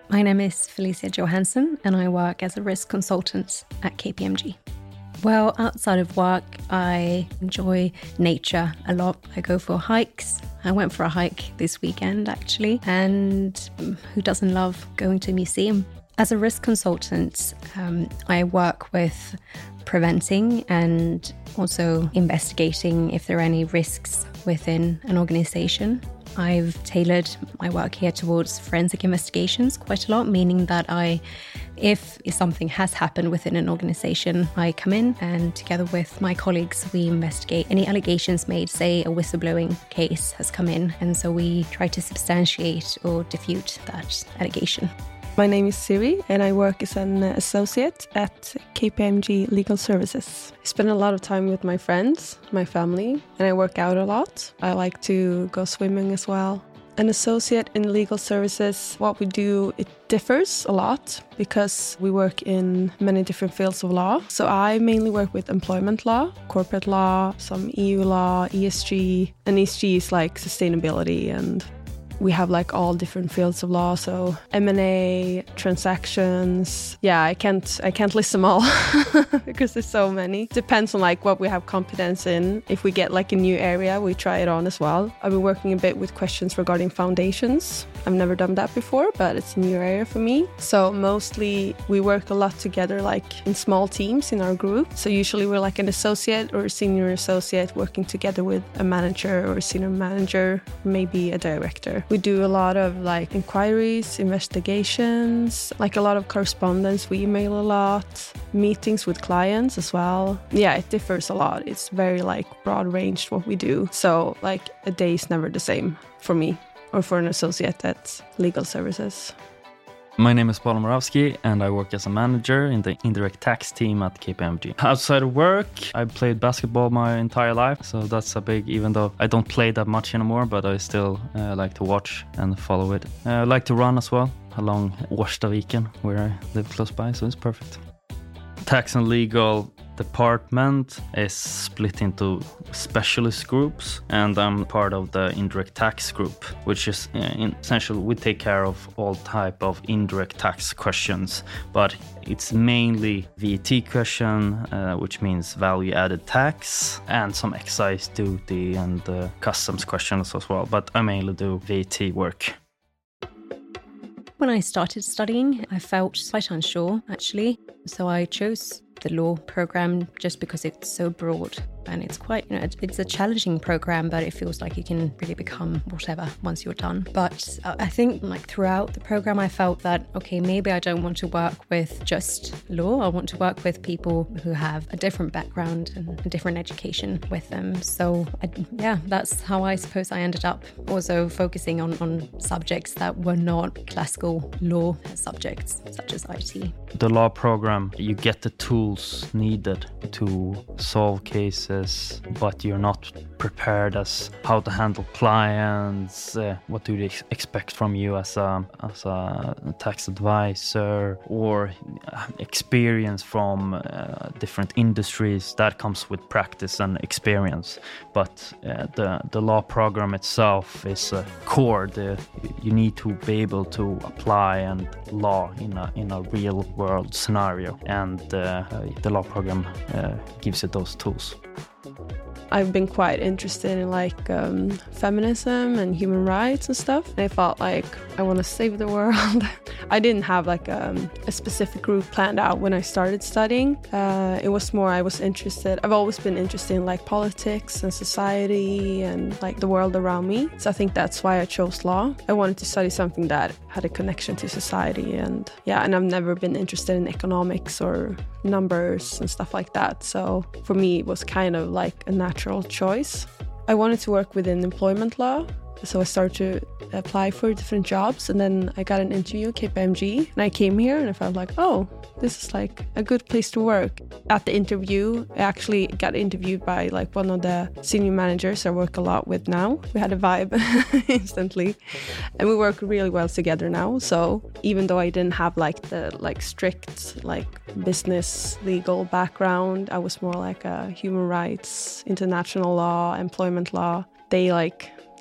My name is Felicia Johansson and I work as a risk consultant at KPMG. Well, outside of work, I enjoy nature a lot. I go for hikes. I went for a hike this weekend, actually. And who doesn't love going to a museum? As a risk consultant, I work with preventing and also investigating if there are any risks within an organization. I've tailored my work here towards forensic investigations quite a lot, meaning that if something has happened within an organization, I come in and together with my colleagues, we investigate any allegations made, say a whistleblowing case has come in. And so we try to substantiate or defute that allegation. My name is Siri and I work as an associate at KPMG Legal Services. I spend a lot of time with my friends, my family, and I work out a lot. I like to go swimming as well. An associate in legal services, what we do, it differs a lot because we work in many different fields of law. So I mainly work with employment law, corporate law, some EU law, ESG, and ESG is like sustainability, and we have like all different fields of law, so M&A, transactions. Yeah, I can't list them all because there's so many. Depends on like what we have competence in. If we get like a new area, we try it on as well. I've been working a bit with questions regarding foundations. I've never done that before, but it's a new area for me. So mostly we work a lot together like in small teams in our group. So usually we're like an associate or a senior associate working together with a manager or a senior manager, maybe a director. We do a lot of like inquiries, investigations, like a lot of correspondence. We email a lot, meetings with clients as well. Yeah, it differs a lot. It's very like broad ranged what we do. So like a day is never the same for me or for an associate at Legal Services. My name is Paul Moravsky and I work as a manager in the indirect tax team at KPMG. Outside of work, I played basketball my entire life, so that's a big, even though I don't play that much anymore, but I still like to watch and follow it. I like to run as well along Årstaviken, where I live close by, so it's perfect. Tax and legal department is split into specialist groups, and I'm part of the indirect tax group, which is essentially we take care of all type of indirect tax questions, but it's mainly VAT question, which means value added tax, and some excise duty and customs questions as well, but I mainly do VAT work. When I started studying, I felt quite unsure, actually. So I chose the law program just because it's so broad and it's quite, it's a challenging program, but it feels like you can really become whatever once you're done. But I think like throughout the program, I felt that, okay, maybe I don't want to work with just law. I want to work with people who have a different background and a different education with them. So that's how I suppose I ended up also focusing on subjects that were not classical law subjects, such as IT. The law program, you get the tools needed to solve cases, but you're not prepared as how to handle clients, what do they expect from you as a tax advisor, or experience from different industries. That comes with practice and experience. But the law program itself is a core. You need to be able to apply and law in a real world scenario, and the law program gives you those tools. I've been quite interested in like feminism and human rights and stuff. And I felt like I want to save the world. I didn't have like a specific route planned out when I started studying. It was more I've always been interested in like politics and society and like the world around me. So I think that's why I chose law. I wanted to study something that had a connection to society, and I've never been interested in economics or numbers and stuff like that. So for me, it was kind of like a natural choice. I wanted to work within employment law, so I started to apply for different jobs, and then I got an interview at KPMG, and I came here and I felt like, oh, this is like a good place to work. At the interview, I actually got interviewed by like one of the senior managers I work a lot with now. We had a vibe instantly, and we work really well together now. So even though I didn't have like the strict business legal background, I was more like a human rights, international law, employment law. They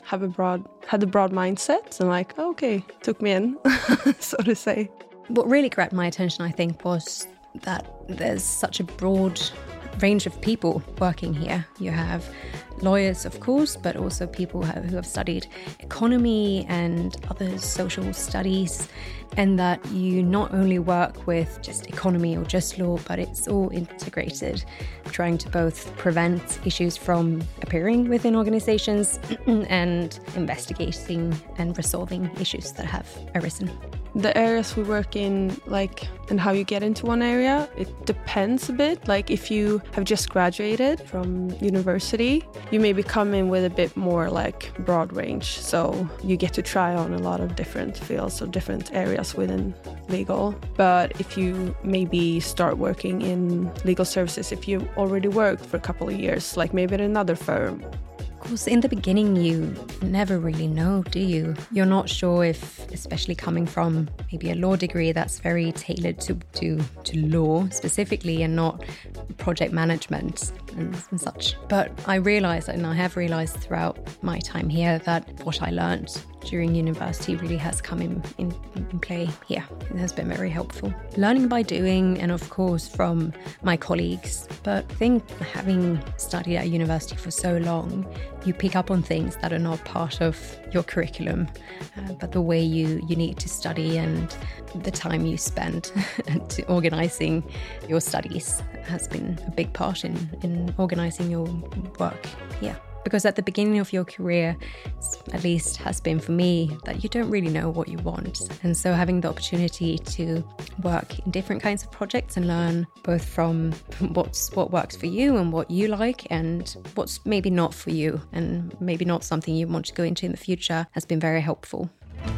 had a broad mindset and like, okay, took me in, so to say. What really grabbed my attention, I think, was that there's such a broad range of people working here. You have lawyers, of course, but also people who have studied economy and other social studies, and that you not only work with just economy or just law, but it's all integrated, trying to both prevent issues from appearing within organizations and investigating and resolving issues that have arisen. The areas we work in, like, and how you get into one area, it depends a bit. Like, if you have just graduated from university, you maybe come in with a bit more like broad range. So you get to try on a lot of different fields or different areas within legal. But if you maybe start working in legal services, if you already worked for a couple of years, like maybe at another firm. Of course, in the beginning, you never really know, do you? You're not sure if, especially coming from maybe a law degree that's very tailored to law specifically and not project management and such. But I realised, and I have realised throughout my time here, that what I learned during university really has come in play here. It has been very helpful. Learning by doing, and of course from my colleagues. But I think having studied at university for so long, you pick up on things that are not part of your curriculum, but the way you need to study and the time you spend to organising your studies has been a big part in organising your work here. Because at the beginning of your career, at least has been for me, that you don't really know what you want. And so having the opportunity to work in different kinds of projects and learn both from what works for you and what you like and what's maybe not for you and maybe not something you want to go into in the future has been very helpful.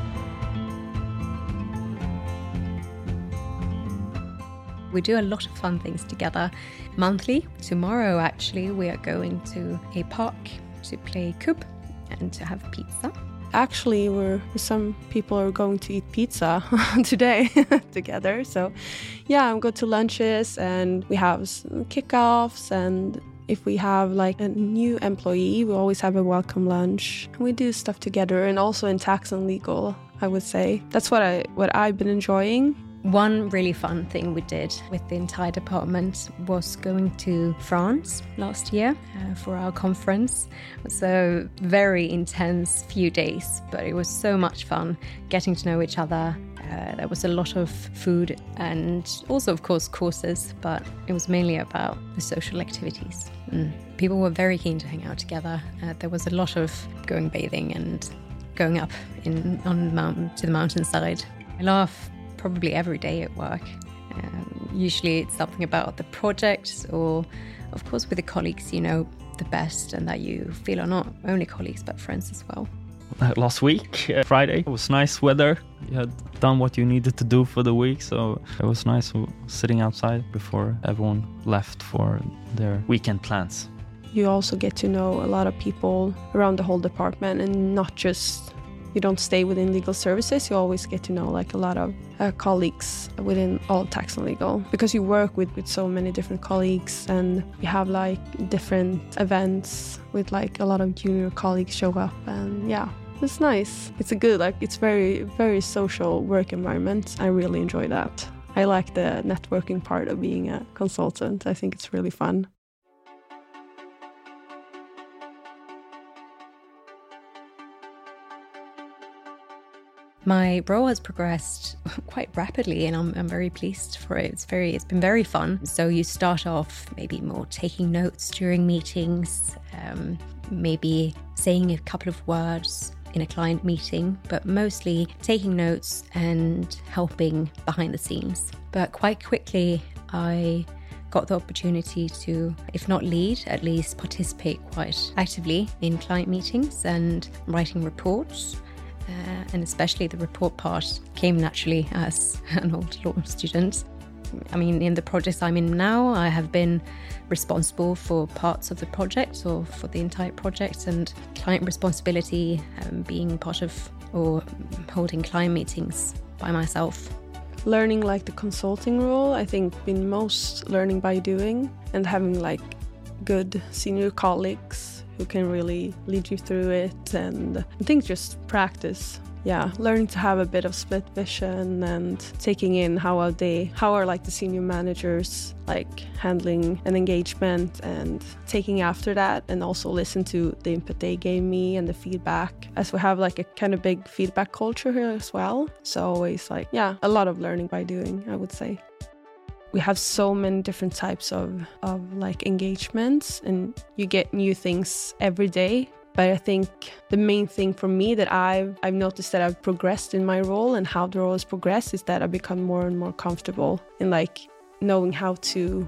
We do a lot of fun things together monthly. Tomorrow, actually, we are going to a park to play kubb and to have pizza. Actually, some people are going to eat pizza today together. So, yeah, I'm going to lunches and we have kickoffs. And if we have like a new employee, we always have a welcome lunch. And we do stuff together, and also in tax and legal, I would say. That's what I've been enjoying. One really fun thing we did with the entire department was going to France last year for our conference. It was a very intense few days, but it was so much fun getting to know each other. There was a lot of food and also, of course, courses, but it was mainly about the social activities. People were very keen to hang out together. There was a lot of going bathing and going up to the mountainside. I laugh probably every day at work. Usually it's something about the project or, of course, with the colleagues you know the best and that you feel are not only colleagues but friends as well. Last week, Friday, it was nice weather. You had done what you needed to do for the week, so it was nice sitting outside before everyone left for their weekend plans. You also get to know a lot of people around the whole department, and not just, you don't stay within legal services, you always get to know like a lot of colleagues within all tax and legal, because you work with so many different colleagues, and you have like different events with like a lot of junior colleagues show up, and yeah, it's nice. It's a good, like, it's very, very social work environment. I really enjoy that. I like the networking part of being a consultant. I think it's really fun. My role has progressed quite rapidly, and I'm very pleased for it. It's been very fun. So you start off maybe more taking notes during meetings, maybe saying a couple of words in a client meeting, but mostly taking notes and helping behind the scenes. But quite quickly, I got the opportunity to, if not lead, at least participate quite actively in client meetings and writing reports. And especially the report part came naturally as an old law student. I mean, in the projects I'm in now, I have been responsible for parts of the project or for the entire project, and client responsibility, being part of or holding client meetings by myself. Learning like the consulting role, I think been most learning by doing, and having like good senior colleagues who can really lead you through it. And I think just practice. Yeah, learning to have a bit of split vision and taking in how are like the senior managers like handling an engagement, and taking after that, and also listen to the input they gave me and the feedback, as we have like a kind of big feedback culture here as well. So always like, yeah, a lot of learning by doing, I would say. We have so many different types of like engagements, and you get new things every day. But I think the main thing for me that I've noticed that I've progressed in my role, and how the role has progressed, is that I've become more and more comfortable in like knowing how to,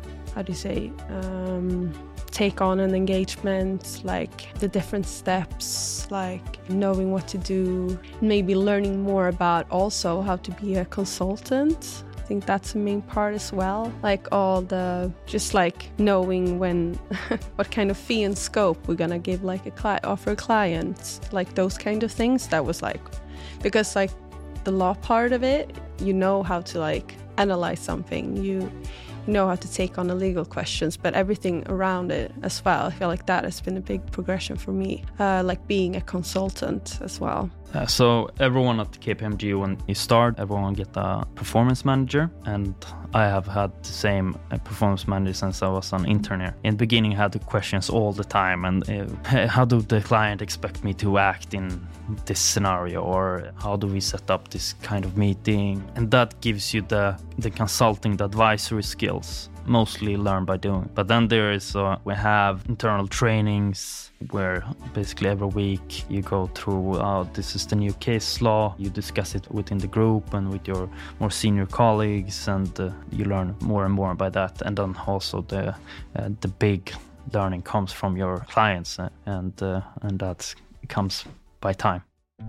take on an engagement, like the different steps, like knowing what to do, maybe learning more about also how to be a consultant. I think that's the main part as well. Like all the, just like knowing when, what kind of fee and scope we're gonna give like offer a client, like those kind of things. That was like, because like the law part of it, you know how to like analyze something, you know how to take on the legal questions, but everything around it as well. I feel like that has been a big progression for me, like being a consultant as well. So everyone at KPMG, when you start, everyone get a performance manager, and I have had the same performance manager since I was an intern here. In the beginning, I had the questions all the time, and how do the client expect me to act in this scenario, or how do we set up this kind of meeting? And that gives you the consulting, the advisory skills, mostly learned by doing. But then there is, we have internal trainings where basically every week you go through, this is the new case law, you discuss it within the group and with your more senior colleagues, and you learn more and more by that. And then also the big learning comes from your clients, and that comes by time.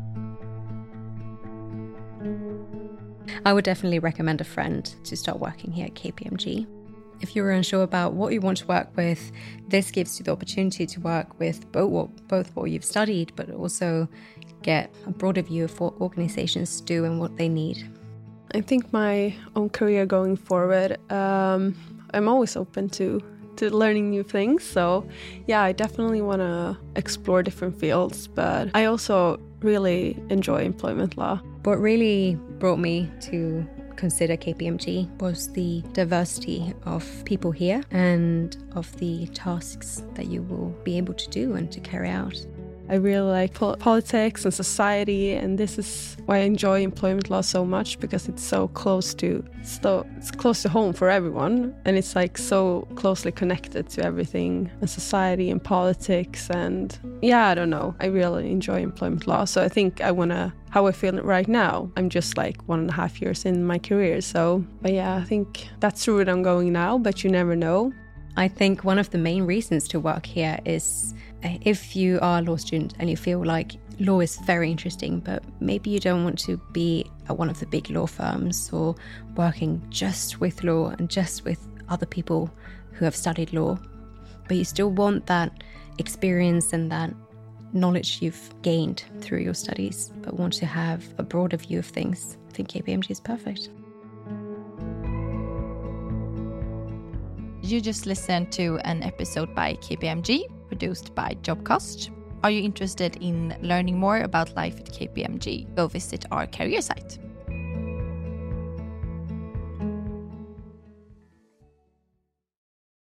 I would definitely recommend a friend to start working here at KPMG. If you're unsure about what you want to work with, this gives you the opportunity to work with both what you've studied, but also get a broader view of what organizations do and what they need. I think my own career going forward, I'm always open to learning new things. So yeah, I definitely want to explore different fields, but I also really enjoy employment law. What really brought me to consider KPMG was the diversity of people here and of the tasks that you will be able to do and to carry out. I really like politics and society, and this is why I enjoy employment law so much, because it's so close to home for everyone, and it's like so closely connected to everything in society and politics. And yeah, I don't know, I really enjoy employment law. So I think how I feel right now, I'm just like 1.5 years in my career. So, but yeah, I think that's the route I'm going now, but you never know. I think one of the main reasons to work here is if you are a law student and you feel like law is very interesting, but maybe you don't want to be at one of the big law firms or working just with law and just with other people who have studied law, but you still want that experience and that knowledge you've gained through your studies, but want to have a broader view of things, I think KPMG is perfect. You just listened to an episode by KPMG, produced by Jobcast. Are you interested in learning more about life at KPMG? Go visit our career site.